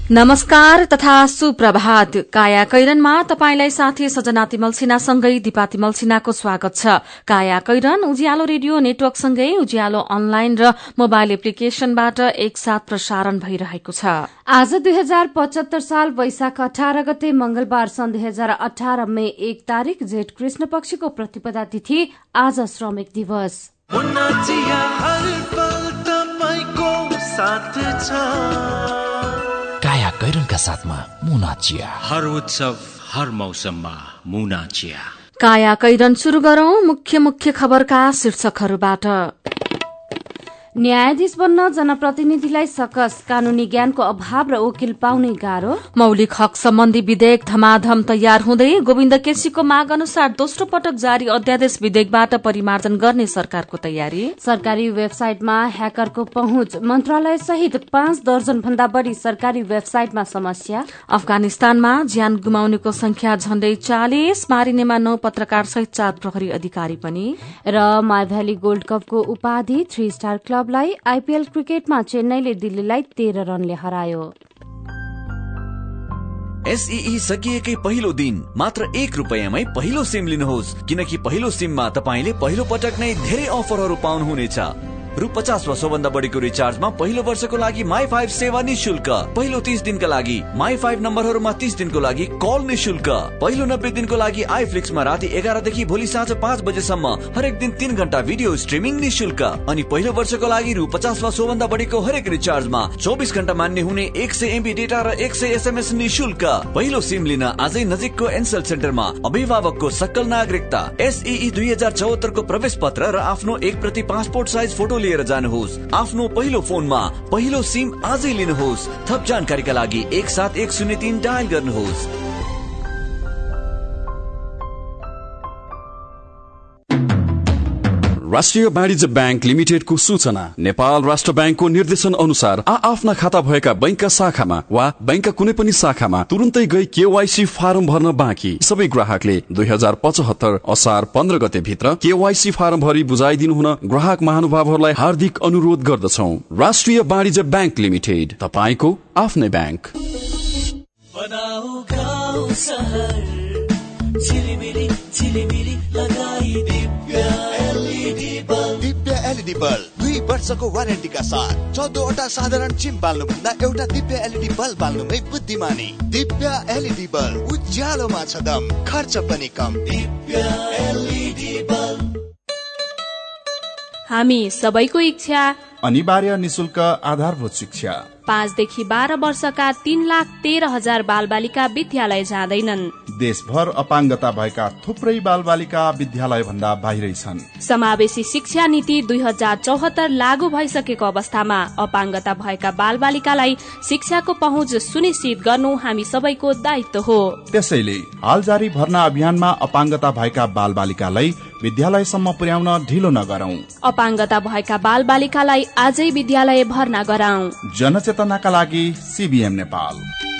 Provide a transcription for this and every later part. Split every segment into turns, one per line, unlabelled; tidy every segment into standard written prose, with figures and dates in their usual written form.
नमस्कार तथा सुप्रभात। काया कैरनमा तपाईंलाई साथी सजना तिमल सिन्हासँगै दिपा तिमल सिन्हाको स्वागत छ। काया कैरन उज्यालो रेडियो नेटवर्कसँगै उज्यालो अनलाइन र मोबाइल एप्लिकेशनबाट एकसाथ प्रसारण भइरहेको छ।
आज 2075 साल वैशाख 18 गते मंगलबार सन् 2018 मे 1 तारिक जेठ कृष्ण पक्षको प्रतिपदा तिथि। आज श्रमिक दिवस।
काया कैरनका साथमा मुना चिया।
हर उत्सव हर मौसममा मुना चिया।
काया कैरन शुरू गरौं मुख्य खबरका शीर्षकहरूबाट।
न्यायाधीश बन्न जनप्रतिनिधिलाई सकस, कानूनी ज्ञानको अभाव र वकिल पाउनै गाह्रो।
मौलिक हक सम्बन्धी विधेयक धमाधम तयार हुँदै गोविन्द केसीको माग अनुसार दोस्रो पटक जारी अध्यादेश विधेयकबाट परिमार्जन गर्ने सरकारको तयारी। सरकारी वेबसाइटमा ह्याकरको पहुँच, मन्त्रालय सहित 5 दर्जन भन्दा बढ़ी सरकारी वेबसाइटमा समस्या। अफगानिस्तानमा ज्यान गुमाउनेको संख्या झण्डै 40, मारिनेमा 9 पत्रकार सहित 4 प्रहरी अधिकारी पनि। र माइभ्याली गोल्ड कपको उपाधि 3 स्टार क्लबलाई आईपीएल क्रिकेटमा चेन्नईले दिल्लीलाई 13 रनले हरायो।
एसईई सकिएकै पहिलो दिन मात्र 1 रुपैयाँमै पहिलो सिम लिनुहोस्, किनकि पहिलो सिममा तपाईले पहिलो पटक नै धेरै अफरहरू पाउनुहुनेछ। रु 50 वा सोभन्दा बढीको रिचार्जमा पहिलो वर्षको लागि माई5 सेवा निशुल्क। पहिलो 30 दिनका लागि माई5 नम्बरहरूमा 30 दिनको लागि कल निशुल्क। पहिलो 90 दिनको लागि आइफ्लिक्समा राति 11 देखि भोलि साँझ 5 बजेसम्म हरेक दिन 3 घण्टा भिडियो स्ट्रिमिङ निशुल्क। अनि पहिलो वर्षको लागि रु 50 वा सोभन्दा बढीको हरेक रिचार्जमा 24 घण्टा मान्य हुने 100 MB डेटा र 100 SMS निशुल्क। पहिलो सिम लिन आजै नजिकको एनसेल सेन्टरमा अभिभावकको सक्कल नागरिकता, एसईई 2074 को प्रवेश पत्र र आफ्नो 1 प्रति पासपोर्ट साइज फोटो लिएर जानुहोस्। आफ्नो पहिलो फोनमा पहिलो सिम आजै लिनुहोस्। थप जानकारीका लागि 17103 डायल गर्नुहोस्।
राष्ट्रिय वाणिज्य बैंक लिमिटेडको सूचना। नेपाल राष्ट्र बैंकको निर्देशन अनुसार आफ्ना खाता भएका बैंकका शाखामा वा बैंकका कुनै पनि शाखामा तुरुन्तै गई केवाईसी फारम भर्न बाँकी सबै ग्राहकले 2075 असार 15 गते भित्र केवाईसी फारम भरि बुझाइदिनु हुन ग्राहक महानुभावहरूलाई हार्दिक अनुरोध गर्दछौं। राष्ट्रिय वाणिज्य बैंक लिमिटेड, तपाईको आफ्नै बैंक।
दिव्य एलईडी बल्ब 2 वर्षको वारेन्टीका साथ 14वटा साधारण चिम बाल्नुभन्दा एउटा दिव्य एलईडी बल्ब बाल्नुमै बुद्धिमानी। दिव्य एलईडी बल्ब, उज्यालोमा छ दम, खर्च पनि कम। दिव्य एलईडी बल्ब।
हामी सबैको इच्छा
अनिवार्य निशुल्क आधारभूत शिक्षा।
5 देखि 12 वर्षका 3,13,000 बालबालिका विद्यालय जाँदैनन्।
देशभर अपाङ्गता भएका थुप्रै बालबालिका विद्यालय भन्दा बाहिरै छन्।
समावेशी शिक्षा नीति 2074 लागू भइसकेको अवस्थामा अपाङ्गता भएका बालबालिकालाई शिक्षाको पहुँच सुनिश्चित गर्नु हामी सबैको दायित्व हो।
त्यसैले हाल जारी भर्ना अभियानमा अपाङ्गता भएका बालबालिकालाई विद्यालयसम्म पुर्याउन ढिलो नगरौं।
अपाङ्गता भएका बालबालिकालाई आजै विद्यालय भर्ना गराउँ।
जनचेतनाका लागि सीबीएम नेपाल।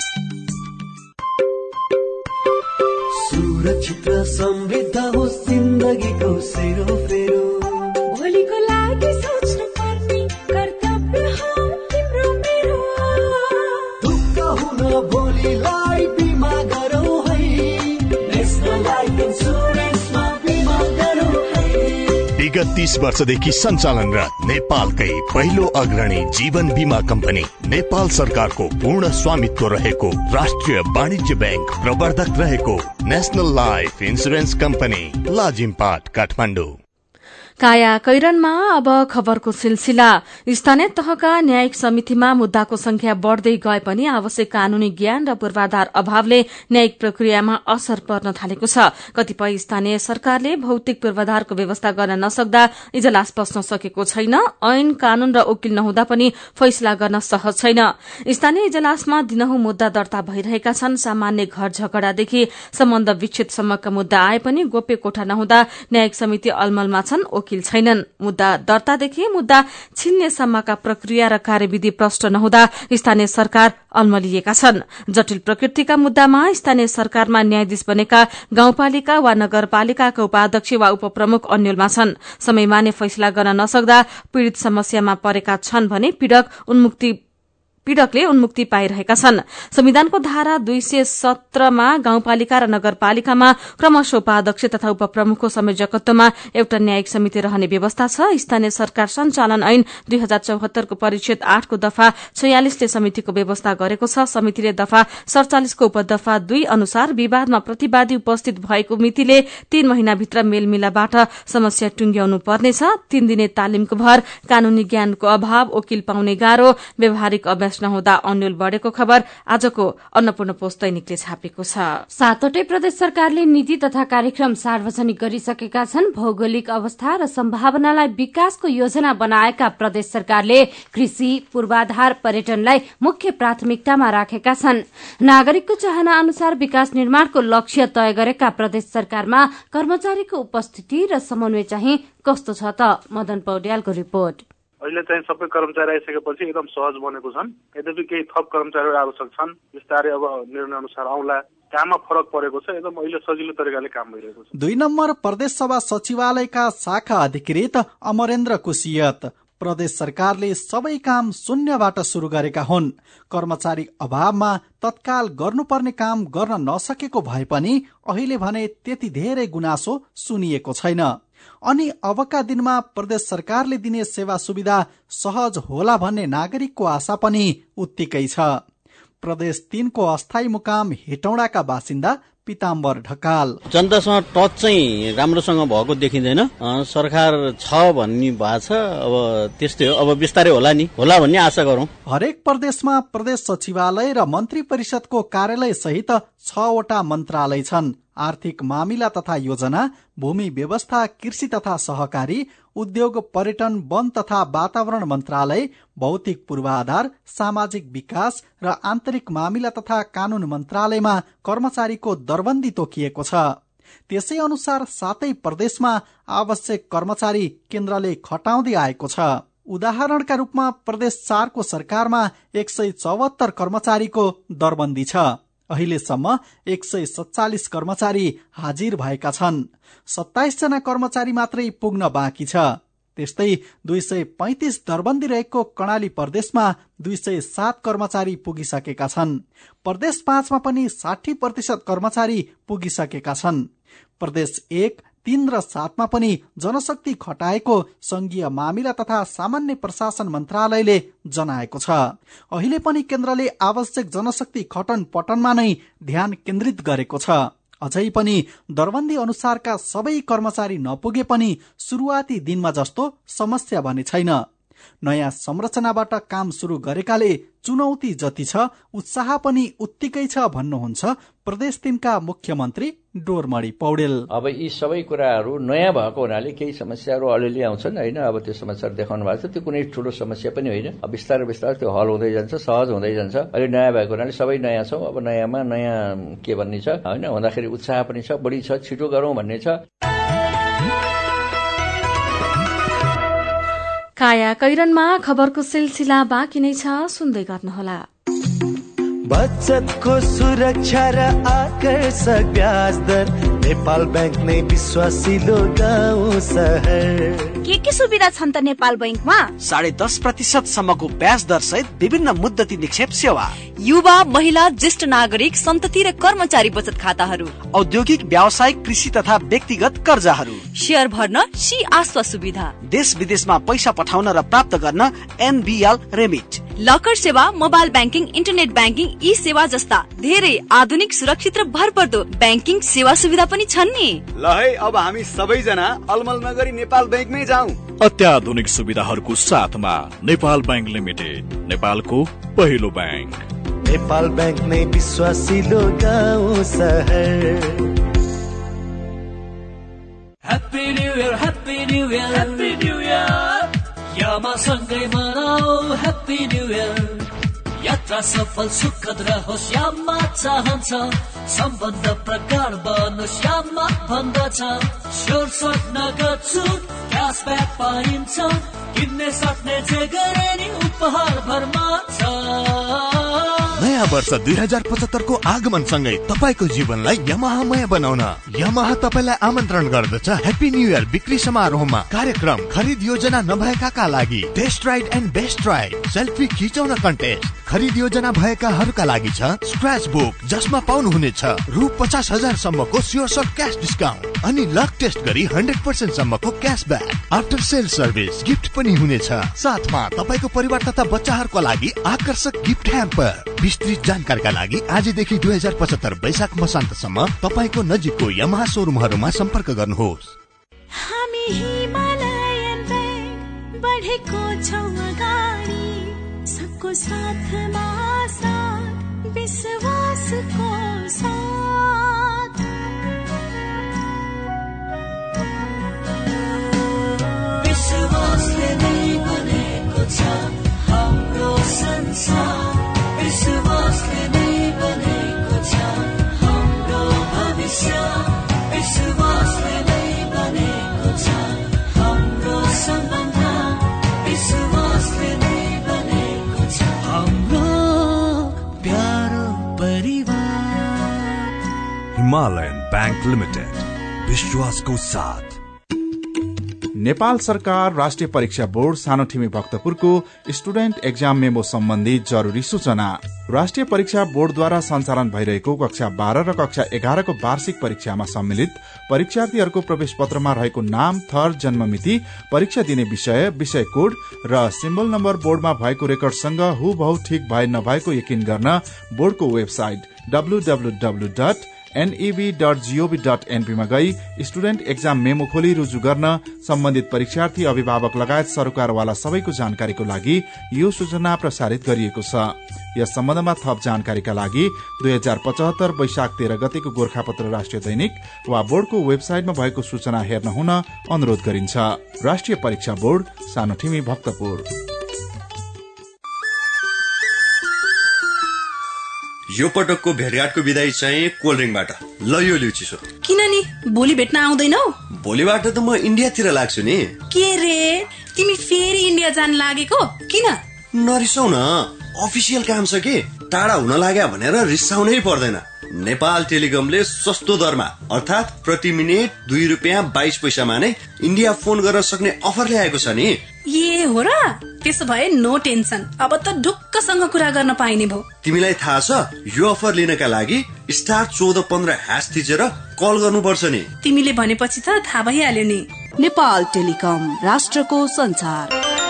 सुरक्षित र समृद्ध होस् जिन्दगीको सेरोफेरो। भोलिको लागि सोच्नु पर्ने कर्तव्य हो तिम्रो मेरो। दुःख हुन भोलिलाई बिमा गरौँ है, नेशनल लाइफ इन्सुरेन्समा बिमा गरौँ है।
विगत 30 वर्षदेखि सञ्चालनरत नेपालकै पहिलो अग्रणी जीवन बीमा कम्पनी नेपाल सरकारको पूर्ण स्वामित्व रहेको राष्ट्रिय वाणिज्य बैंक प्रवर्धक रहेको national life insurance company, Lazimpat, Kathmandu.
काया कैरनमा अब खबरको सिलसिला। स्थानीय तहका न्यायिक समितिमा मुद्दाको संख्या बढ़दै गए पनि आवश्यक कानूनी ज्ञान र पूर्वाधार अभावले न्यायिक प्रक्रियामा असर पर्न थालेको छ। कतिपय स्थानीय सरकारले भौतिक पूर्वाधारको व्यवस्था गर्न नसक्दा इजलास बस्न सकेको छैन। ऐन कानून र वकिल नहुँदा पनि फैसला गर्न सहज छैन। स्थानीय इजलासमा दिनहुँ मुद्दा दर्ता भइरहेका छन्। सामान्य घर झगडादेखि सम्बन्ध विच्छेदसम्मका मुद्दा आए पनि गोप्य कोठा नहुँदा न्यायिक समिति अलमलमा छन्, वकिल छैनन्। मुद्दा दर्तादेखि मुद्दा छिन्नेसम्मका प्रक्रिया र कार्यविधि प्रष्ट नहुँदा स्थानीय सरकार अलमलिएका छन्। जटिल प्रकृतिका मुद्दामा स्थानीय सरकारमा न्यायाधीश बनेका गाउँपालिका वा नगरपालिकाका उपाध्यक्ष वा उपप्रमुख अन्यलमा छन्। समयमा नै फैसला गर्न नसक्दा पीड़ित समस्यामा परेका छन् भने पीड़क उन्मुक्ति पीड़कले उन्मुक्ति पाइरहेका छन्। संविधानको धारा 217मा गाउँपालिका र नगरपालिकामा क्रमशः उपाध्यक्ष तथा उपप्रमुखको संयोजकत्वमा एउटा न्यायिक समिति रहने व्यवस्था छ। स्थानीय सरकार सञ्चालन ऐन 2074 को परिच्छेद 8 को दफा 46 ले समितिको व्यवस्था गरेको छ। समितिले दफा 47 को उपदफा 2 अनुसार विवादमा प्रतिवादी उपस्थित भएको मितिले 3 महिनाभित्र मेलमिलापबाट समस्या टुंग्याउनु पर्नेछ। 3 दिने तालिमको भर, कानूनी ज्ञानको अभाव, वकिल पाउने गाह्रो, व्यावहारिक अभ्यास नहुँदा अन्यल बढ़ेको खबर आजको अन्नपूर्ण पोस्ट दैनिकले छापेको छ।
7वटै प्रदेश सरकारले नीति तथा कार्यक्रम सार्वजनिक गरिसकेका छन्। भौगोलिक अवस्था र सम्भावनालाई विकासको योजना बनाएका प्रदेश सरकारले कृषि, पूर्वाधार, पर्यटनलाई मुख्य प्राथमिकतामा राखेका छन्। नागरिकको चाहना अनुसार विकास निर्माणको लक्ष्य तय गरेका प्रदेश सरकारमा कर्मचारीको उपस्थिति र समन्वय चाहिँ कस्तो छ त? मदन पौड्यालको रिपोर्ट।
अहिले चाहिँ सबै कर्मचारी आइसकेपछि एकदम सहज बनेको छन्। यद्यपि केही थप कर्मचारीहरू आवश्यक छन्। बिस्तारै अब निर्णय अनुसार आउला। काममा फरक परेको छ। एकदम अहिले सजिलो तरिकाले काम भइरहेको छ।
2 नम्बर प्रदेश सभा सचिवालयका शाखा अधिकृत अमरेन्द्र कुसियत, प्रदेश सरकारले सबै काम शून्यबाट शुरू गरेका हुन्। कर्मचारी अभावमा तत्काल गर्नुपर्ने काम गर्न नसकेको भए पनि अहिले भने त्यति धेरै गुनासो सुनिएको छैन। अनि अबका दिनमा प्रदेश सरकारले दिने सेवा सुविधा सहज होला भन्ने नागरिकको आशा पनि उत्तिकै छ। प्रदेश 3 को अस्थायी मुकाम हेटौडाका बासिन्दा पिताम्बर ढकाल,
जनतासँग टच चाहिँ राम्रोसँग भएको देखिँदैन। सरकार छ भन्ने भएको छ। अब त्यस्तै हो। अब बिस्तारै होला भन्ने आशा गरौं।
हरेक प्रदेशमा प्रदेश सचिवालय र मन्त्री परिषदको कार्यालय सहित 6वटा मन्त्रालय छन्। आर्थिक मामिला तथा योजना, भूमि व्यवस्था, कृषि तथा सहकारी, उद्योग, पर्यटन, वन तथा वातावरण मन्त्रालय, भौतिक पूर्वाधार, सामाजिक विकास र आन्तरिक मामिला तथा कानून मन्त्रालयमा कर्मचारीको दरबन्दी तोकिएको छ। त्यसै अनुसार 7 प्रदेशमा आवश्यक कर्मचारी केन्द्रले खटाउँदै आएको छ। उदाहरणका रूपमा प्रदेश 4 को सरकारमा 174 कर्मचारीको दरबन्दी छ। अहिलेसम्म 147 कर्मचारी हाजिर भएका छन्। 27 जना कर्मचारी मात्रै पुग्न बाँकी छ। त्यस्तै 235 दरबन्दी रहेको कर्णाली प्रदेशमा 207 कर्मचारी पुगिसकेका छन्। प्रदेश 5 मा पनि 60% कर्मचारी पुगिसकेका छन्। प्रदेश 1, 3 र 7 मा पनि जनशक्ति खटाएको संघीय मामिला तथा सामान्य प्रशासन मन्त्रालयले जनाएको छ। अहिले पनि केन्द्रले आवश्यक जनशक्ति खटन पटनमा नै ध्यान केन्द्रित गरेको छ। अझै पनि दरबन्दी अनुसारका सबै कर्मचारी नपुगे पनि सुरुवाती दिनमा जस्तो समस्या भने छैन। नयाँ संरचनाबाट काम शुरू गरेकाले चुनौती जति छ उत्साह पनि उत्तिकै छ भन्नुहुन्छ प्रदेश 3 का मुख्यमन्त्री डोरमणि पौडेल।
अब यी सबै कुराहरू नयाँ भएको हुनाले केही समस्याहरू अलिअलि आउँछन् हैन। अब त्यो समस्याहरू देखाउनु भएको छ। त्यो कुनै ठूलो समस्या पनि होइन। अब बिस्तारै बिस्तारै त्यो हल हुँदै जान्छ, सहज हुँदै जान्छ। अहिले नयाँ भएको हुनाले सबै नयाँ छौं। अब नयाँमा नयाँ के भन्ने छ हैन, हुँदाखेरि उत्साह पनि छ, बढी छ, छिटो गरौं भन्ने छ।
काया कैरनमा खबरको सिलसिला बाँकी नै छ, सुन्दै गर्नुहोला।
बचतको सुरक्षा र आकर्षक ब्याज दर नेपाल बैंक नै विश्वासिलो गाउँ सहर।
के सुविधा छन् त नेपाल बैंकमा?
10.5% सम्मको ब्याज दर सहित विभिन्न मुद्दती निक्षेप सेवा,
युवा, महिला, ज्येष्ठ नागरिक, सन्तति र कर्मचारी बचत खाताहरू,
औद्योगिक, व्यावसायिक, कृषि तथा व्यक्तिगत कर्जाहरू,
शेयर भर्न, सी आस्था सुविधा,
देश विदेशमा पैसा पठाउन र प्राप्त गर्न NBL रेमिट,
लकर सेवा, मोबाइल ब्याङ्किङ, इन्टरनेट ब्याङ्किङ, ई सेवा जस्ता धेरै आधुनिक, सुरक्षित र भरपर्दो ब्याङ्किङ सेवा सुविधा पनि छन् नि।
ल है, अब हामी सबैजना अलमल नगरी नेपाल बैंकमै जाउँ।
अत्याधुनिक सुविधाहरूको साथमा नेपाल बैंक लिमिटेड, नेपालको पहिलो बैंक।
नेपाल बैंक नै विश्वासिलो गाउँ सहर।
Happy new year, happy new year, happy new year. यामा सँगै मनाऊ ह्याप्पी न्यू इयर। यात्रा सफल सुखद रहोस् यामा चाहन्छ, सम्बन्ध प्रगाढ बनोस् यामा भन्दछ। स्योर सर्ट नगद छुट क्यासब्याक पाइन्छ, किन्ने सक्ने जे गरे नि उपहार भरमा छ।
नयाँ वर्ष 2075 को आगमन सँगै तपाईको जीवनलाई यमाहामय बनाउन यमाहा तपाईलाई आमन्त्रण गर्दछ ह्याप्पी न्यू इयर बिक्री समारोहमा। कार्यक्रम खरिद योजना नभएकाका लागि test ride and best ride, selfie खिचाउन contest,
खरिद योजना भएकाहरूका लागि छ स्क्रैच बुक, जसमा पाउनुहुनेछ रु 50,000 सम्मको स्योर सट क्याश डिस्काउन्ट अनि लक टेस्ट गरी 100% सम्मको क्याशब्याक। आफ्टर सेल सर्भिस गिफ्ट पनि हुनेछ। साथमा तपाईको परिवार तथा बच्चाहरूको लागि आकर्षक गिफ्ट ह्याम्पर। विस्तृत जानकारीका लागि आजदेखि 2075 वैशाख मसान्तसम्म तपाईको नजिकको यामाहा सोरुमहरूमा सम्पर्क गर्नुहोस्।
हामी हिमालयन बैंक बढेको छौं अगाडि, सबको साथमा साथ, विश्वासको साथ।
विश्वासले नै बनेको छ हाम्रो संसार, विश्वासले नै बनेको छ हाम्रो भविष्य, विश्वासले नै बनेको छ हाम्रो सम्बन्ध, विश्वासले नै बनेको छ हाम्रो प्यारो परिवार।
हिमालयन बैंक लिमिटेड, विश्वासको साथ।
नेपाल सरकार राष्ट्रिय परीक्षा बोर्ड सानोठिमी भक्तपुरको स्टुडेन्ट एक्जाम मेमो सम्बन्धी जरुरी सूचना। राष्ट्रिय परीक्षा बोर्डद्वारा सञ्चालन भइरहेको कक्षा 12 र कक्षा 11 को वार्षिक परीक्षामा सम्मिलित परीक्षार्थीहरूको प्रवेश पत्रमा रहेको नाम, थर, जन्ममिति, परीक्षा दिने विषय, विषय कोड र सिम्बल नम्बर बोर्डमा भएको रेकर्डसँग हुबहु ठिक भए नभएको यकिन गर्न बोर्डको वेबसाइट www.neb.gov.np मा गई स्टुडेन्ट एक्जाम मेमो खोली रुजु गर्न सम्बन्धित परीक्षार्थी, अभिभावक लगायत सरकारवाला सबैको जानकारीको लागि यो सूचना प्रसारित गरिएको छ। यस सम्बन्धमा थप जानकारीका लागि 2075 वैशाख 13 गतेको गोरखापत्र राष्ट्रिय दैनिक वा बोर्डको वेबसाइटमा भएको सूचना हेर्न हुन अनुरोध गरिन्छ। राष्ट्रिय परीक्षा बोर्ड, सानोठिमी भक्तपुर।
यो पटकको भेटघाटको विदाई चाहिँ कोल्ड ड्रिङ्कबाट। ल यो लिउ चिसो।
किन नि भोलि भेट्न आउँदैनौ?
भोलिबाट त म इन्डियातिर लाग्छु नि।
के रे, तिमी फेरि इन्डिया जान लागेको? किन?
नरिसाउ न, अफिसियल काम छ कि टाढा हुन लाग्या भनेर रिसाउनै पर्दैन। नेपाल टेलिकमले सस्तो दरमा अर्थात प्रति मिनेट 2 रुपियाँ 22 पैसामा नै इन्डिया फोन गर्न सक्ने अफर ल्याएको छ नि।
ए हो र? त्यसो भए नो टेन्सन, अब त ढुक्कसँग कुरा गर्न पाइने भयो।
तिमीलाई थाहा छ यो अफर लिनका लागि *1415# थिचेर कल गर्नुपर्छ नि।
तिमीले भनेपछि त थाहा भइहाल्यो नि।
नेपाल टेलिकम, राष्ट्रको संचार।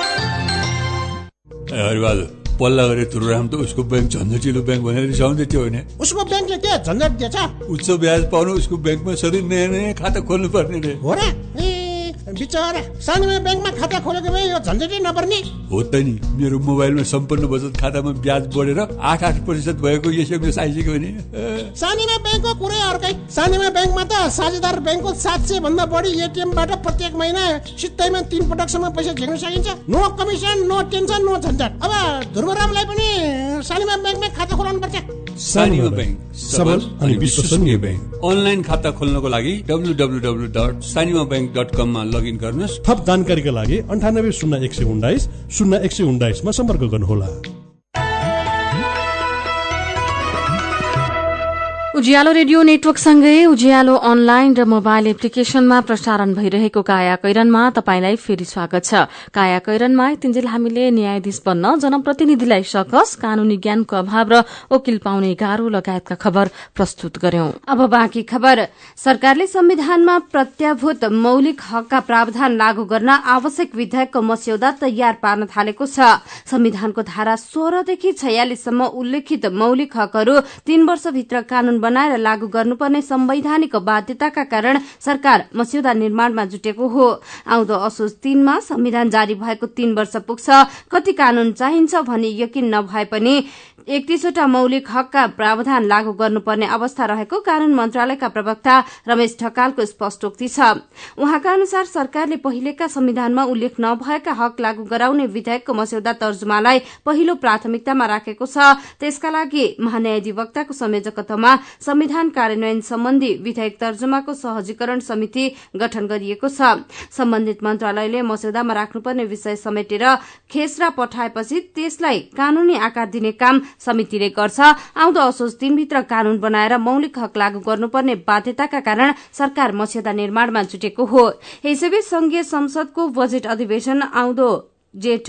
पल्ला गरे तुरुराम त उसको बैंक झन्झटिलो बैंक भनेर रिसाउँदै थियो होइन?
उसको बैंकले के झन्झट दिएछ?
उच्च ब्याज पाउनु उसको बैंकमा सधैँ नयाँ नयाँ खाता खोल्नु पर्ने रे।
हो र? बिचारा सानोमा बैंकमा खाता खोलेको भए यो झन्झटै नपर्ने
हो त नि। मेरो मोबाइलमा सम्पूर्ण बचत खातामा ब्याज बढेर 8% भएको एसएमएस आइसक्यो भने।
सानोमा बैंकको कुरै अर्कै। सानोमा बैंकमा त साझेदार बैंकको 700 भन्दा बढी एटीएमबाट प्रत्येक महिना सित्तैमा 3 पटकसम्म पैसा झिक्न सकिन्छ। No commission, no tension, no झन्झट। अब ध्रुवरामलाई पनि सानोमा बैंकमा खाता खोलाउनु पर्छ।
सानिमा बैंक, सबल अनि विश्वसनीय बैंक। अनलाइन खाता खोल्नको लागि www.sanimabank.com मा लगइन गर्नुहोस्।
थप जानकारीका लागि 980119 0119 मा सम्पर्क गर्नुहोला।
उज्यालो रेडियो नेटवर्कसँगै उज्यालो अनलाइन र मोबाइल एप्लिकेशनमा प्रसारण भइरहेको काया कैरनमा तपाईंलाई फेरि स्वागत छ। काया कैरनमा तिन्जेल हामीले न्यायाधीश बन्न जनप्रतिनिधिलाई सकस, कानूनी ज्ञानको अभाव र वकिल पाउने गाह्रो लगायतका खबर प्रस्तुत गर्यौं।
अब बाँकी खबर। सरकारले संविधानमा प्रत्याभूत मौलिक हकका प्रावधान लागू गर्न आवश्यक विधेयकको मस्यौदा तयार पार्न थालेको छ। संविधानको धारा 16 देखि 46 सम्म उल्लेखित मौलिक हकहरू 3 वर्षभित्र कानून बनाएर लागू गर्नुपर्ने संवैधानिक बाध्यताका कारण सरकार मस्यौदा निर्माणमा जुटेको हो। आउँदो असोज 3 मा संविधान जारी भएको 3 वर्ष पुग्छ। कति कानून चाहिन्छ भनी यकिन नभए पनि 31 वटा मौलिक हकका प्रावधान लागू गर्नुपर्ने अवस्था रहेको कानून मन्त्रालयका प्रवक्ता रमेश ढकालको स्पष्टोक्ति छ। उहाँका अनुसार सरकारले पहिलेका संविधानमा उल्लेख नभएका हक लागू गराउने विधेयकको मस्यौदा तर्जुमालाई पहिलो प्राथमिकतामा राखेको छ। त्यसका लागि महान्यायाधिवक्ताको संयोजकत्वमा संविधान कार्यान्वयन सम्बन्धी विधेयक तर्जुमाको सहजीकरण समिति गठन गरिएको छ। सम्बन्धित मन्त्रालयले मस्यौदामा राख्नुपर्ने विषय समेटेर खेसरा पठाएपछि त्यसलाई कानूनी आकार दिने काम समितिले गर्छ। आउँदो असोज 3 भित्र कानून बनाएर मौलिक हक लागू गर्नुपर्ने बाध्यताका कारण सरकार मस्यौदा निर्माणमा जुटेको हो। यसैबीच संघीय संसदको बजेट अधिवेशन आउँदो जेठ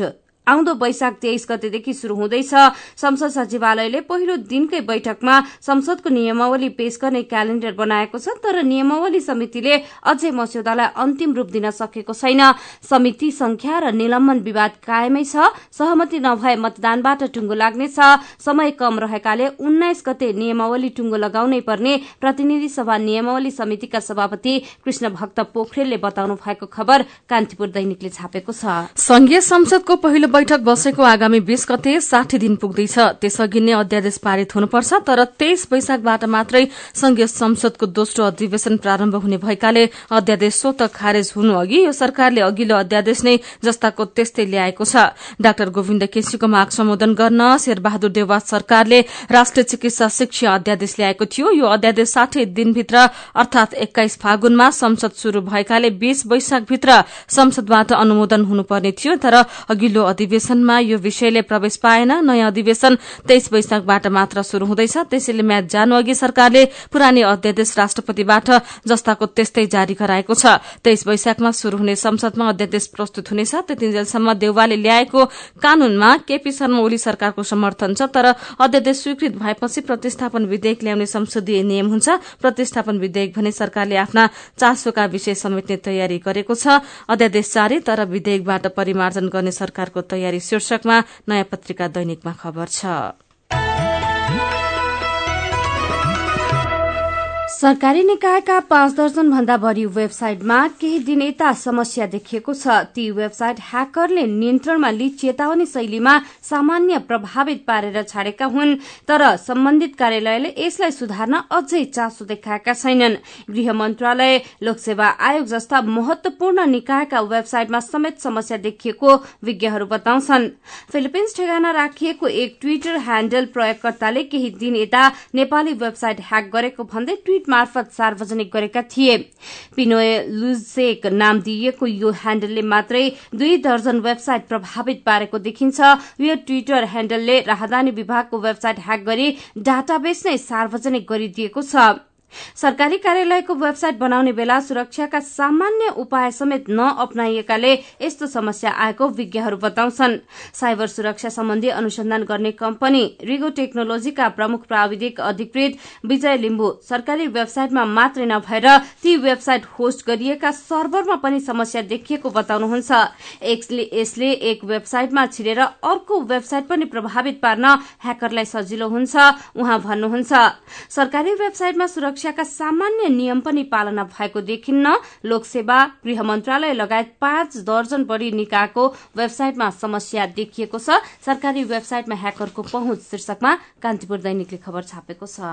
आउँदो वैशाख 23 गतेदेखि शुरू हुँदैछ। संसद सचिवालयले पहिलो दिनकै बैठकमा संसदको नियमावली पेश गर्ने क्यालेण्डर बनाएको छ, तर नियमावली समितिले अझै मस्यौदालाई अन्तिम रूप दिन सकेको छैन। समिति संख्या र निलम्बन विवाद कायमै छ। सहमति नभए मतदानबाट टुङ्गो लाग्नेछ। समय कम रहेकाले 19 गते नियमावली टुङ्गो लगाउनै पर्ने प्रतिनिधि सभा नियमावली समितिका सभापति कृष्ण भक्त पोखरेलले बताउनु भएको खबर कान्तिपुर दैनिकले छापेको छ।
संघीय संसदको पहिलो बैठक बसेको आगामी 20 गते 60 दिन पुग्दैछ। त्यसअघि नै अध्यादेश पारित हुनुपर्छ, तर 23 वैशाखबाट मात्रै संघीय संसदको दोस्रो अधिवेशन प्रारम्भ हुने भएकाले अध्यादेश स्वतः खारेज हुनु अघि यो सरकारले अघिल्लो अध्यादेश नै जस्ताको त्यस्तै ल्याएको छ। डाक्टर गोविन्द केसीको माग सम्बोधन गर्न शेरबहादुर देउवा सरकारले राष्ट्रिय चिकित्सा शिक्षा अध्यादेश ल्याएको थियो। यो अध्यादेश 60 दिनभित्र अर्थात 21 फागुनमा संसद शुरू भएकाले 20 वैशाखभित्र संसदबाट अनुमोदन हुनुपर्ने थियो, तर अघिल्लो अधिवेशनमा यो विषयले प्रवेश पाएन। नयाँ अधिवेशन 23 वैशाखबाट मात्र शुरू हुँदैछ। त्यसैले म्याद जानु अघि सरकारले पुरानै अध्यादेश राष्ट्रपतिबाट जस्ताको त्यस्तै जारी गराएको छ। 23 वैशाखमा शुरू हुने संसदमा अध्यादेश प्रस्तुत हुनेछ। त्यतिन्जेलसम्म देउवाले ल्याएको कानूनमा केपी शर्मा ओली सरकारको समर्थन छ, तर अध्यादेश स्वीकृत भएपछि प्रतिस्थापन विधेयक ल्याउने संसदीय नियम हुन्छ। प्रतिस्थापन विधेयक भने सरकारले आफ्ना चासोका विषय समेट्ने तयारी गरेको छ। अध्यादेश जारी तर विधेयकबाट परिमार्जन गर्ने सरकारको तयारी शीर्षकमा नयाँ पत्रिका दैनिकमा खबर छ।
सरकारी निकायका 5 दर्जन भन्दा बढ़ी वेबसाइटमा केही दिन यता समस्या देखिएको छ। ती वेबसाइट ह्याकरले नियन्त्रणमा लिई चेतावनी शैलीमा सामान्य प्रभावित पारेर छाडेका हुन्, तर सम्बन्धित कार्यालयले यसलाई सुधार्न अझै चासो देखाएका छैनन्। गृह मन्त्रालय, लोकसेवा आयोग जस्ता महत्वपूर्ण निकायका वेबसाइटमा समेत समस्या देखिएको विज्ञहरू बताउँछन्। फिलिपिन्स ठेगाना राखिएको एक ट्विटर ह्याण्डल प्रयोगकर्ताले केही दिन यता नेपाली वेबसाइट ह्याक गरेको भन्दै ट्वीट मार्फत सार्वजनिक गरेका थिए। पिनोए लुजेक नाम दिइएको यो ह्याण्डलले मात्रै 2 दर्जन वेबसाइट प्रभावित पारेको देखिन्छ। यो ट्विटर ह्याण्डलले राहदानी विभागको वेबसाइट ह्याक गरी डाटाबेस नै सार्वजनिक गरिदिएको छ। सरकारी कार्यालयको वेबसाइट बनाउने बेला सुरक्षाका सामान्य उपाय समेत नअपनाइएकाले यस्तो समस्या आएको विज्ञहरू बताउँछन्। साइबर सुरक्षा सम्बन्धी अनुसन्धान गर्ने कम्पनी रिगो टेक्नोलोजीका प्रमुख प्राविधिक अधिकृत विजय लिम्बू सरकारी वेबसाइटमा मात्रै नभएर ती वेबसाइट होस्ट गरिएका सर्भरमा पनि समस्या देखिएको बताउनुहुन्छ। यसले एक वेबसाइटमा छिरेर अर्को वेबसाइट पनि प्रभावित पार्न ह्याकरलाई सजिलो हुन्छ। उहाँ भन्नुहुन्छ, सरकारी वेबसाइटमा सुरक्षा का सामान्य नियम पनि पालना भएको देखिन्न। लोकसेवा, गृह मन्त्रालय लगायत 5 दर्जन बढ़ी निकायको वेबसाइटमा समस्या देखिएको छ। सरकारी वेबसाइटमा ह्याकरको पहुँच शीर्षकमा कान्तिपुर दैनिकले खबर छापेको छ।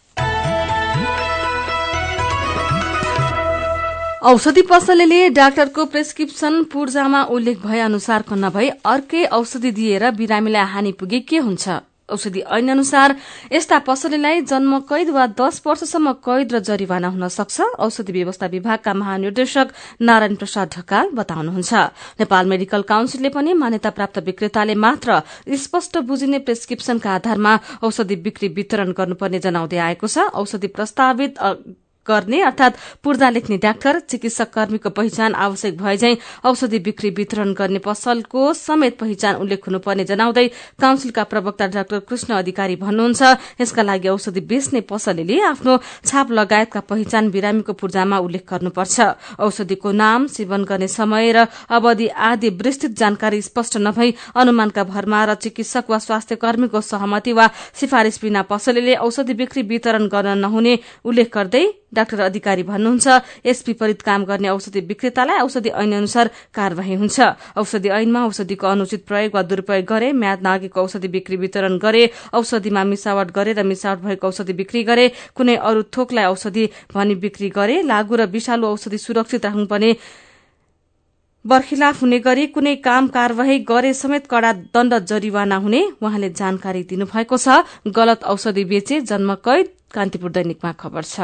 औषधि पसलेले डाक्टरको प्रेस्क्रिप्सन पूर्जामा उल्लेख भए अनुसारको नभई अर्कै औषधि दिएर बिरामीलाई हानि पुगे के हुन्छ? औषधि ऐन अनुसार यस्ता पसलेलाई जन्म कैद वा 10 वर्षसम्म कैद र जरिवाना हुन सक्छ। औषधि व्यवस्था विभागका महानिर्देशक नारायण प्रसाद ढकाल बताउनुहुन्छ। नेपाल मेडिकल काउन्सिलले पनि मान्यता प्राप्त विक्रेताले मात्र स्पष्ट बुझिने प्रेस्क्रिप्सनका आधारमा औषधि बिक्री वितरण गर्नुपर्ने जनाउँदै आएको छ। औषधि प्रस्तावित गर्ने अर्थात पूर्जा लेख्ने डाक्टर, चिकित्सक कर्मीको पहिचान आवश्यक भए झैं औषधि बिक्री वितरण गर्ने पसलको समेत पहिचान उल्लेख हुनुपर्ने जनाउँदै काउन्सिलका प्रवक्ता डाक्टर कृष्ण अधिकारी भन्नुहुन्छ, यसका लागि औषधि बेच्ने पसलेले आफ्नो छाप लगायतका पहिचान बिरामीको पूर्जामा उल्लेख गर्नुपर्छ। औषधिको नाम, सेवन गर्ने समय र अवधि आदि विस्तृत जानकारी स्पष्ट नभई अनुमानका भरमा र चिकित्सक वा स्वास्थ्य कर्मीको सहमति वा सिफारिश बिना पसलेले औषधि बिक्री वितरण गर्न नहुने उल्लेख गर्दै डाक्टर अधिकारी भन्नुहुन्छ, यस विपरीत काम गर्ने औषधि विक्रेतालाई औषधि ऐन अनुसार कार्यवाही हुन्छ। औषधि ऐनमा औषधिको अनुचित प्रयोग वा दुरूपयोग गरे, म्याद नआगेको औषधि बिक्री वितरण गरे, औषधिमा मिसावट गरे र मिसावट भएको औषधि बिक्री गरे, कुनै अरू थोकलाई औषधि भनी बिक्री गरे, लागू र विषालु औषधि सुरक्षित राख्नुपर्ने बर्खिलाफ हुने गरी कुनै काम कार्यवाही गरे समेत कड़ा दण्ड जरिवाना हुने उहाँले जानकारी दिनुभएको छ। गलत औषधि बेचे जन्म कैद, कान्तिपुर दैनिकमा खबर छ।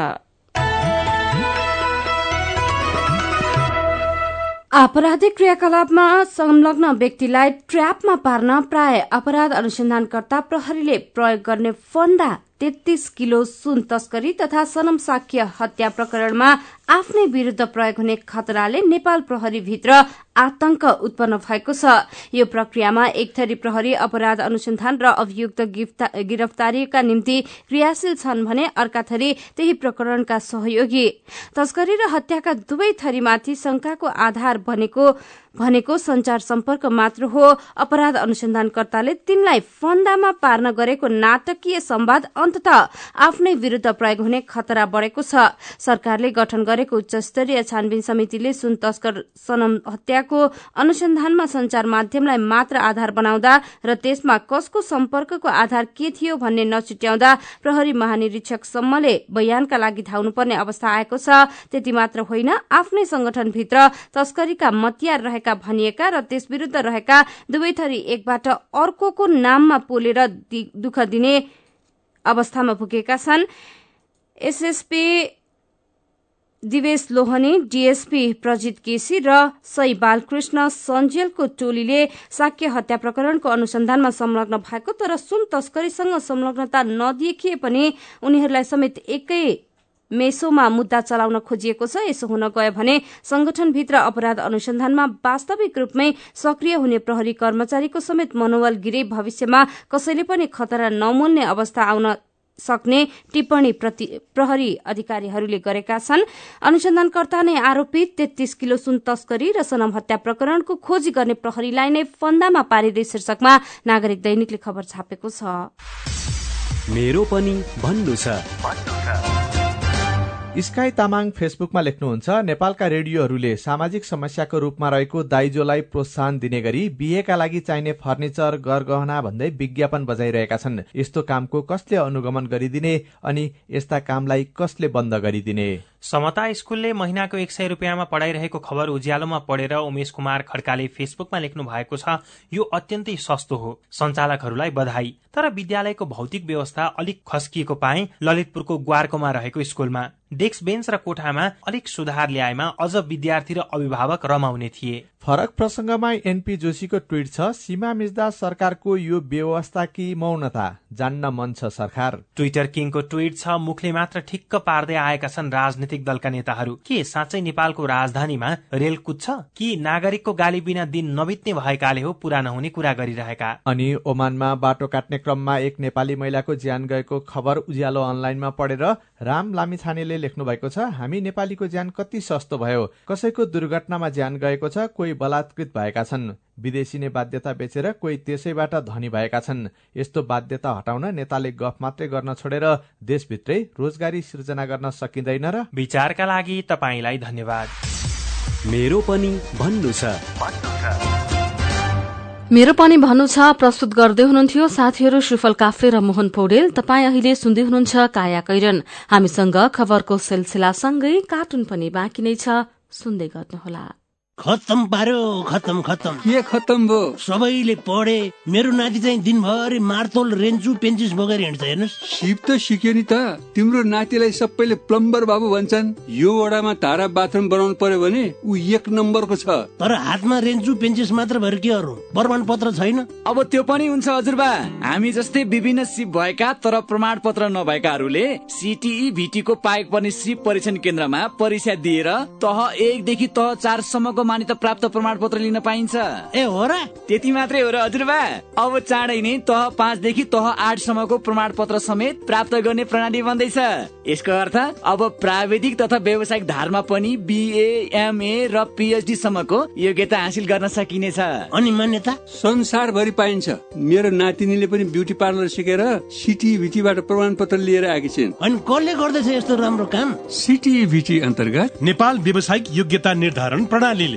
आपराधिक क्रियाकलापमा संलग्न व्यक्तिलाई ट्र्यापमा पार्न प्राय अपराध अनुसन्धानकर्ता प्रहरीले प्रयोग गर्ने फण्डा 33 किलो सुन तस्करी तथा सनम साक्य हत्या प्रकरणमा आफ्नै विरुद्ध प्रयोग हुने खतराले नेपाल प्रहरी भित्र आतंक उत्पन्न भएको छ। यो प्रक्रियामा एक थरी प्रहरी अपराध अनुसन्धान र अभियुक्त गिरफ्तारीका निम्ति क्रियाशील छन् भने अर्का थरी त्यही प्रकरणका सहयोगी। तस्करी र हत्याका दुवै थरीमाथि शंकाको आधार भनेको संचार सम्पर्क मात्र हो। अपराध अनुसन्धानकर्ताले तिनलाई फन्दामा पार्न गरेको नाटकीय संवाद अन्ततः आफ्नै विरुद्ध प्रयोग हुने खतरा बढ़ेको छ। सरकारले गठन गरेको उच्च स्तरीय छानबिन समितिले सुन तस्कर सनम हत्याको अनुसन्धानमा संचार माध्यमलाई मात्र आधार बनाउँदा र त्यसमा कसको सम्पर्कको आधार के थियो भन्ने नछुट्याउँदा प्रहरी महानिरीक्षक सम्मले बयानका लागि धाउनुपर्ने अवस्था आएको छ। त्यति मात्र होइन, आफ्नै संगठनभित्र तस्करीका मतियार रहेका भनिएका र त्यस विरुद्ध रहेका दुवै थरी एकबाट अर्कोको नाममा पोलेर दुःख दिने अवस्थामा पुगेका छन्। एसएसपी दिवेश लोहनी, डीएसपी प्रजित केसी र सई बालकृष्ण सञ्जेलको टोलीले साक्य हत्या प्रकरणको अनुसन्धानमा संलग्न भएको तर सुन तस्करीसँग संलग्नता नदेखिए पनि उनीहरूलाई समेत एकै मेसोमा मुद्दा चलाउन खोजिएको छ। यसो हुन गयो भने संगठनभित्र अपराध अनुसन्धानमा वास्तविक रूपमै सक्रिय हुने प्रहरी कर्मचारीको समेत मनोबल गिरे भविष्यमा कसैले पनि खतरा नमोल्ने अवस्था आउन सक्ने टिप्पणी प्रहरी अधिकारीहरूले गरेका छन्। अनुसन्धानकर्ता नै आरोपित 33 किलो सुन तस्करी र सनम हत्या प्रकरणको खोजी गर्ने प्रहरीलाई नै फन्दामा पारिँदै शीर्षकमा नागरिक दैनिकले खबर छापेको छ।
मेरो पनि भन्नु छ।
स्काई तामाङ फेसबुकमा लेख्नुहुन्छ, नेपालका रेडियोहरूले सामाजिक समस्याको रूपमा रहेको दाइजोलाई प्रोत्साहन दिने गरी बिहेका लागि चाहिने फर्निचर गरगहना भन्दै विज्ञापन बजाइरहेका छन्। यस्तो कामको कसले अनुगमन गरिदिने अनि यस्ता कामलाई कसले बन्द गरिदिने?
समता स्कूलले महिनाको 100 रुपियाँमा पढाइरहेको खबर उज्यालोमा पढेर उमेश कुमार खड्काले फेसबुकमा लेख्नु भएको छ। यो अत्यन्तै सस्तो हो, सञ्चालकहरूलाई बधाई। तर विद्यालयको भौतिक व्यवस्था अलिक खस्किएको पाए ललितपुरको ग्वारकोमा रहेको स्कूलमा। डेस्क बेन्च र कोठामा अलिक सुधार ल्याएमा अझ विद्यार्थी र अभिभावक रमाउने थिए।
फरक प्रसंगमा एनपी जोशीको ट्वीट छ, सीमा मिच्दा सरकारको यो व्यवस्था कि मौनता जान्न मन छ सरकार।
ट्विटर किङको ट्वीट छ, मुखले मात्र ठिक्क पार्दै आएका छन् राजनीतिक दलका नेताहरू। के साँच्चै नेपालको राजधानीमा रेल कुद्छ कि नागरिकको गाली बिना दिन नबित्ने भएकाले हो पूरा नहुने कुरा गरिरहेका।
अनि ओमानमा बाटो काट्ने क्रममा एक नेपाली महिलाको ज्यान गएको खबर उज्यालो अनलाइनमा पढेर राम लामिछानेले लेख्नु भएको छ, हामी नेपालीको ज्यान कति सस्तो भयो, कसैको दुर्घटनामा ज्यान गएको छ, कोही बलात्कृत भएका छन्, विदेशी नै बाध्यता बेचेर कोही त्यसैबाट धनी भएका छन्। यस्तो बाध्यता हटाउन नेताले गफ मात्रै गर्न छोडेर देशभित्रै रोजगारी सृजना गर्न सकिँदैन र?
विचारका लागि तपाईलाई धन्यवाद।
मेरो पनि भन्नु छ।
मेरो पनि भन्नु छ प्रस्तुत गर्दै हुनुहुन्थ्यो साथीहरू सुफल काफ्ले र मोहन पौडेल। तपाईँ अहिले सुन्दै हुनुहुन्छ काया कैरन। हामीसँग खबरको सिलसिलासँगै कार्टुन पनि बाँकी नै छ, सुन्दै गर्नुहोला।
खत्तम पार्यो, खत्तम खत्तम।
के खत्तम भयो?
सबैले पढे, मेरो नाति चाहिँ दिनभरि मार्तोल रेन्चु पेन्चिस बोकेर हिँड्छ। हेर्नुहोस्,
सिप त सिक्यो नि त। तिम्रो नातिलाई सबैले प्लम्बर बाबु भन्छन्। यो वडामा धारा बाथरुम बनाउनु पर्यो भने ऊ 1 नम्बरको छ।
तर हातमा रेन्चु पेन्चिस मात्र भएर के अरू प्रमाण पत्र छैन।
अब त्यो पनि हुन्छ हजुरबा। हामी जस्तै विभिन्न सिप भएका तर प्रमाण पत्र नभएकाहरूले सीटीई भीटी को पाएक पर्ने सिप परीक्षण केन्द्रमा परीक्षा दिएर तह 1 देखि तह 4 सम्मको मान्यता प्राप्त प्रमाण पत्र लिन पाइन्छ।
ए हो र?
त्यति मात्रै हो र हजुरबा। अब चाँडै नै तह 5 देखि तह 8 सम्मको प्रमाण पत्र समेत प्राप्त गर्ने प्रणाली बन्दैछ। यसको अर्थ अब प्राविधिक तथा व्यावसायिक धारमा पनि बीए, एमए र पीएचडी सम्मको योग्यता हासिल गर्न सकिनेछ।
अनि मान्यता
संसारभरि पाइन्छ। मेरो नातिनीले पनि ब्युटी पार्लर सिकेर सीटीभीटीबाट प्रमाण पत्र लिएर आएकी छिन्।
अनि कसले गर्दैछ यस्तो राम्रो काम?
सीटीभीटी अन्तर्गत
नेपाल व्यावसायिक योग्यता निर्धारण प्रणालीले।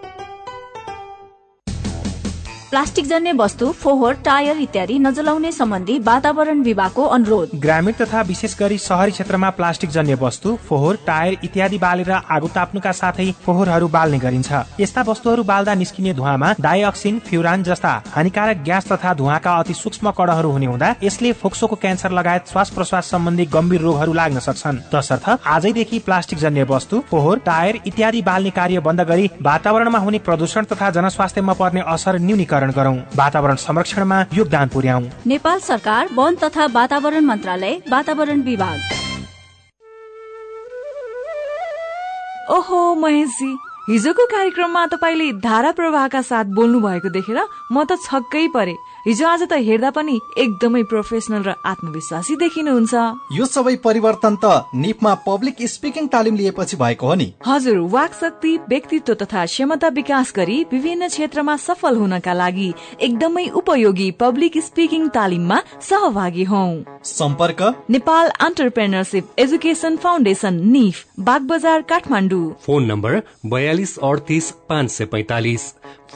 प्लास्टिक जन्य वस्तु, फोहोर, टायर इत्यादि नजलाउने सम्बन्धी वातावरण विभागको अनुरोध।
ग्रामीण तथा विशेष गरी शहरी क्षेत्रमा प्लास्टिक जन्य वस्तु, फोहोर, टायर इत्यादि बालेर आगो ताप्नुका साथै फोहोरहरू बाल्ने गरिन्छ। यस्ता वस्तुहरू बाल्दा निस्किने धुवामा डाइअक्सिन, फ्युरान जस्ता हानिकारक ग्यास तथा धुवाका अति सूक्ष्म कणहरू हुने हुँदा यसले फोक्सोको क्यान्सर लगायत श्वास प्रश्वास सम्बन्धी गम्भीर रोगहरू लाग्न सक्छन्। तसर्थ आजैदेखि प्लास्टिक जन्य वस्तु, फोहोर, टायर इत्यादि बाल्ने कार्य बन्द गरी वातावरणमा हुने प्रदूषण तथा जनस्वास्थ्यमा पर्ने असर न्यूनीकरण गरौं। वातावरण संरक्षणमा योगदान पुर्याउँ।
नेपाल सरकार, वन तथा वातावरण मन्त्रालय, वातावरण विभाग।
ओहो महेशजी, हिजोको कार्यक्रममा तपाईले धारा प्रवाहका साथ बोल्नु भएको देखेर म त छक्कै परे। हिजो आज त हेर्दा पनि एकदमै प्रोफेसनल र आत्मविश्वासी देखिनुहुन्छ।
यो सबै परिवर्तन त निपमा पब्लिक स्पिकिङ तालिम लिएपछि भएको हो नि।
हजुर, वाक शक्ति, व्यक्तित्व तथा क्षमता विकास गरी विभिन्न क्षेत्रमा सफल हुनका लागि एकदमै उपयोगी पब्लिक स्पिकिङ तालिममा सहभागी हौ।
सम्पर्क
Nepal entrepreneurship education foundation, nif, Bagbazar, Kathmandu.
Phone number 42 38 545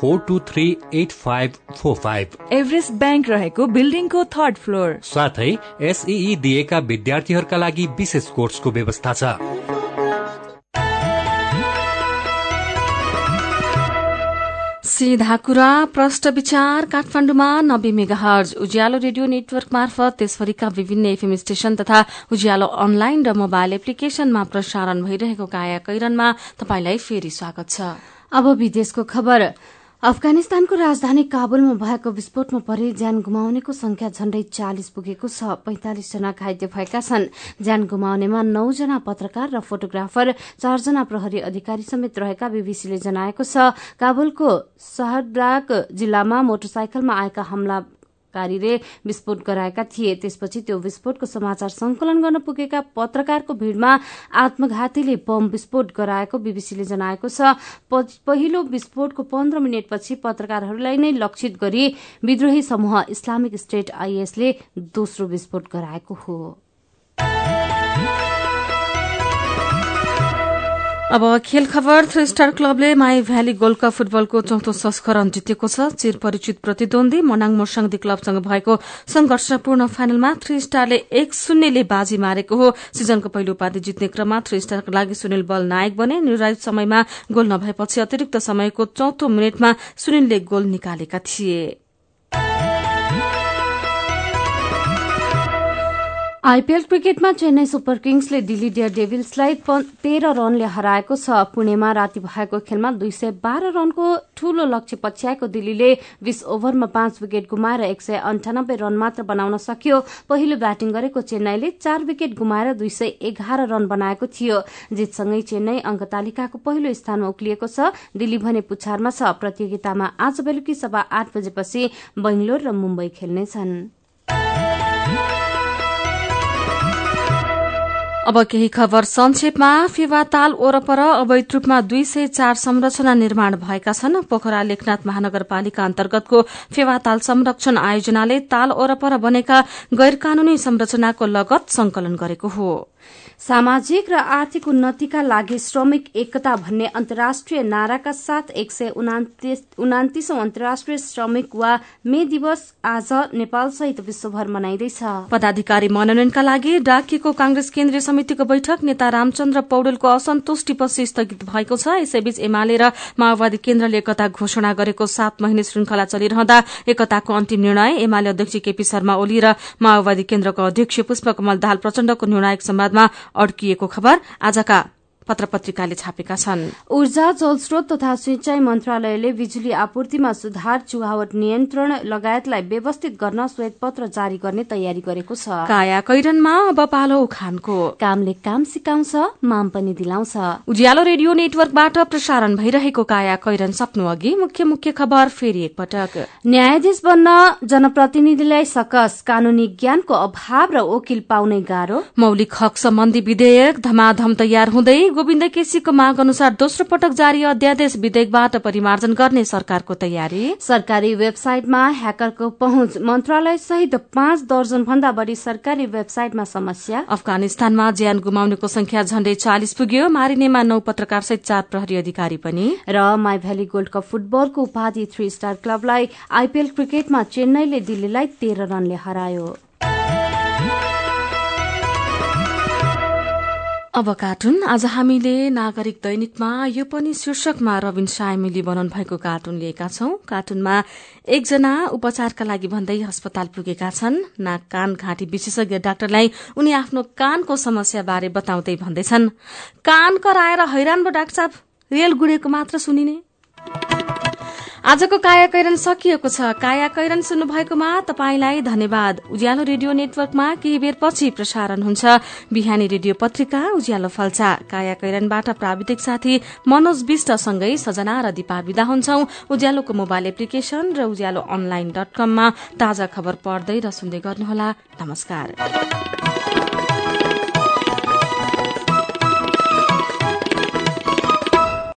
4238545।
Everest bank रहेको बिल्डिङको 3rd फ्लोर।
साथै एसईई दिएका विद्यार्थीहरूका लागि विशेष कोर्सको व्यवस्था छ।
सीधा कुरा, प्रश्न विचार काठमाडौँमा 90 मेगाहर्ज उज्यालो रेडियो नेटवर्क मार्फत, देशभरिका विभिन्न एफएम स्टेशन तथा उज्यालो अनलाइन र मोबाइल एप्लिकेशनमा प्रसारण भइरहेको काया कैरनमा तपाईलाई फेरि स्वागत छ।
अब विदेशको खबर। अफगानिस्तानको राजधानी काबुलमा भएको विस्फोटमा परे ज्यान गुमाउनेको संख्या झण्डै 40 पुगेको छ। 45 जना घाइते भएका छन्। ज्यान गुमाउनेमा 9 जना पत्रकार र फोटोग्राफर, 4 जना प्रहरी अधिकारी समेत रहेका बीबीसीले जनाएको छ। काबुलको शहरबाग जिल्लामा मोटरसाइकलमा आएका हमलाकारीले विस्फोट गराएका थिए। त्यसपछि त्यो विस्फोटको समाचार संकलन गर्न पुगेका पत्रकारको भीड़मा आत्मघातीले बम विस्फोट गराएको बीबीसीले जनाएको छ। पहिलो विस्फोटको 15 मिनटपछि पत्रकारहरूलाई नै लक्षित गरी विद्रोही समूह इस्लामिक स्टेट आईएसले दोस्रो विस्फोट गराएको हो।
अब खेल खबर। 3 स्टार क्लबले माई भ्याली गोल्ड कप फुटबलको 4थो संस्करण जितेको छ। चिर परिचित प्रतिद्वन्दी मनाङ मोरसाङदी क्लबसँग भएको संघर्षपूर्ण फाइनलमा 3 स्टारले 1-0 ले बाजी मारेको हो। सिजनको पहिलो उपाधि जित्ने क्रममा 3 स्टारका लागि सुनिल बल नायक बने। निर्धारित समयमा गोल नभएपछि अतिरिक्त समयको 4थो मिनेटमा सुनिलले गोल निकालेका थिए।
आईपीएल क्रिकेटमा चेन्नई सुपर किङ्सले दिल्ली डेयर डेभिल्सलाई 13 रनले हराएको छ। पुणेमा राति भएको खेलमा 212 रनको ठूलो लक्ष्य पछ्याएको दिल्लीले 20 ओभरमा 5 विकेट गुमाएर 198 रन मात्र बनाउन सक्यो। पहिलो ब्याटिङ गरेको चेन्नईले 4 विकेट गुमाएर 211 रन बनाएको थियो। जितसँगै चेन्नई अंक तालिकाको पहिलो स्थानमा उक्लिएको छ। दिल्ली भने पुछारमा छ। प्रतियोगितामा आज बेलुकी 8:15 बजेपछि बेंगलोर र मुम्बई खेल्नेछन्।
अब केही खबर संक्षेपमा। फेवा ताल ओरपर अवैध रूपमा 204 संरचना निर्माण भएका छन्। पोखरा लेखनाथ महानगरपालिका अन्तर्गतको फेवा ताल संरक्षण आयोजनाले ताल ओरपर बनेका गैर कानूनी संरचनाको लगत संकलन गरेको हो।
सामाजिक र आर्थिक उन्नतिका लागि श्रमिक एकता भन्ने अन्तर्राष्ट्रिय नाराका साथ 129औं अन्तर्राष्ट्रिय श्रमिक वा मे दिवस आज नेपाल सहित विश्वभर मनाइँदैछ।
पदाधिकारी मनोनयनका लागि डाकिएको कांग्रेस केन्द्रीय समितिको बैठक नेता रामचन्द्र पौडेलको असन्तुष्टिपछि स्थगित भएको छ। यसैबीच एमाले र माओवादी केन्द्रले एकता घोषणा गरेको 7 महिने श्रृंखला चलिरहँदा एकताको अन्तिम निर्णय एमाले अध्यक्ष केपी शर्मा ओली र माओवादी केन्द्रको अध्यक्ष पुष्पकमल दाहाल प्रचण्डको निर्णायक संवादमा अड्किएको खबर आजका पत्रपत्रिकाले छापेका छन्।
ऊर्जा, जलस्रोत तथा सिंचाई मन्त्रालयले बिजुली आपूर्तिमा सुधार, चुहावट नियन्त्रण लगायतलाई व्यवस्थित गर्न श्वेतपत्र जारी गर्ने तयारी गरेको छ।
काया कैरनमा अब पालो उखानको।
कामले काम सिकाउँछ, माम पनि दिलाउँछ।
उज्यालो रेडियो नेटवर्कबाट प्रसारण भइरहेको काया कैरन सप्नु अघि मुख्य मुख्य खबर फेरि एकपटक।
न्यायाधीश बन्न जनप्रतिनिधिलाई सकस, कानूनी ज्ञानको अभाव र वकिल पाउनै गाह्रो।
मौलिक हक सम्बन्धी विधेयक धमाधम तयार हुँदै गोविन्द केसीको माग अनुसार दोस्रो पटक जारी अध्यादेश विधेयकबाट परिमार्जन गर्ने सरकारको तयारी।
सरकारी वेबसाइटमा ह्याकरको पहुँच, मन्त्रालय सहित 5 दर्जन भन्दा बढ़ी सरकारी वेबसाइटमा समस्या।
अफगानिस्तानमा ज्यान गुमाउनेको संख्या झण्डै 40 पुग्यो। मारिनेमा 9 पत्रकार सहित 4 प्रहरी अधिकारी पनि।
र माई भ्याली गोल्ड कप फुटबलको उपाधि 3 स्टार क्लबलाई आईपीएल क्रिकेटमा चेन्नईले दिल्लीलाई 13 रनले हरायो।
अब कार्टुन। आज हामीले नागरिक दैनिकमा यो पनि शीर्षकमा रविन सायमिली बनाउनु भएको कार्टुन लिएका छौं। कार्टुनमा एकजना उपचारका लागि भन्दै अस्पताल पुगेका छन्। नाक कान घाँटी विशेषज्ञ डाक्टरलाई उनी आफ्नो कानको समस्या बारे बताउँदै भन्दैछन्, कान कराएर हैरान भो डाक्टर साहब, रेल गुडेको मात्र सुनिने। आजको कायाकैरन सकिएको छ। कायाकैरन सुन्नु भएकोमा तपाईलाई धन्यवाद। उज्यालो रेडियो नेटवर्कमा केही बेर पछि प्रसारण हुन्छ बिहानी रेडियो पत्रिका उज्यालो फल्चा। कायाकैरनबाट प्राविधिक साथी मनोज विष्टसँगै सजना र दिपा विदा हुन्छौं। उज्यालोको मोबाइल एप्लिकेशन र उज्यालो online.com मा ताजा खबर पढ्दै र सुन्दै गर्नुहोला। नमस्कार।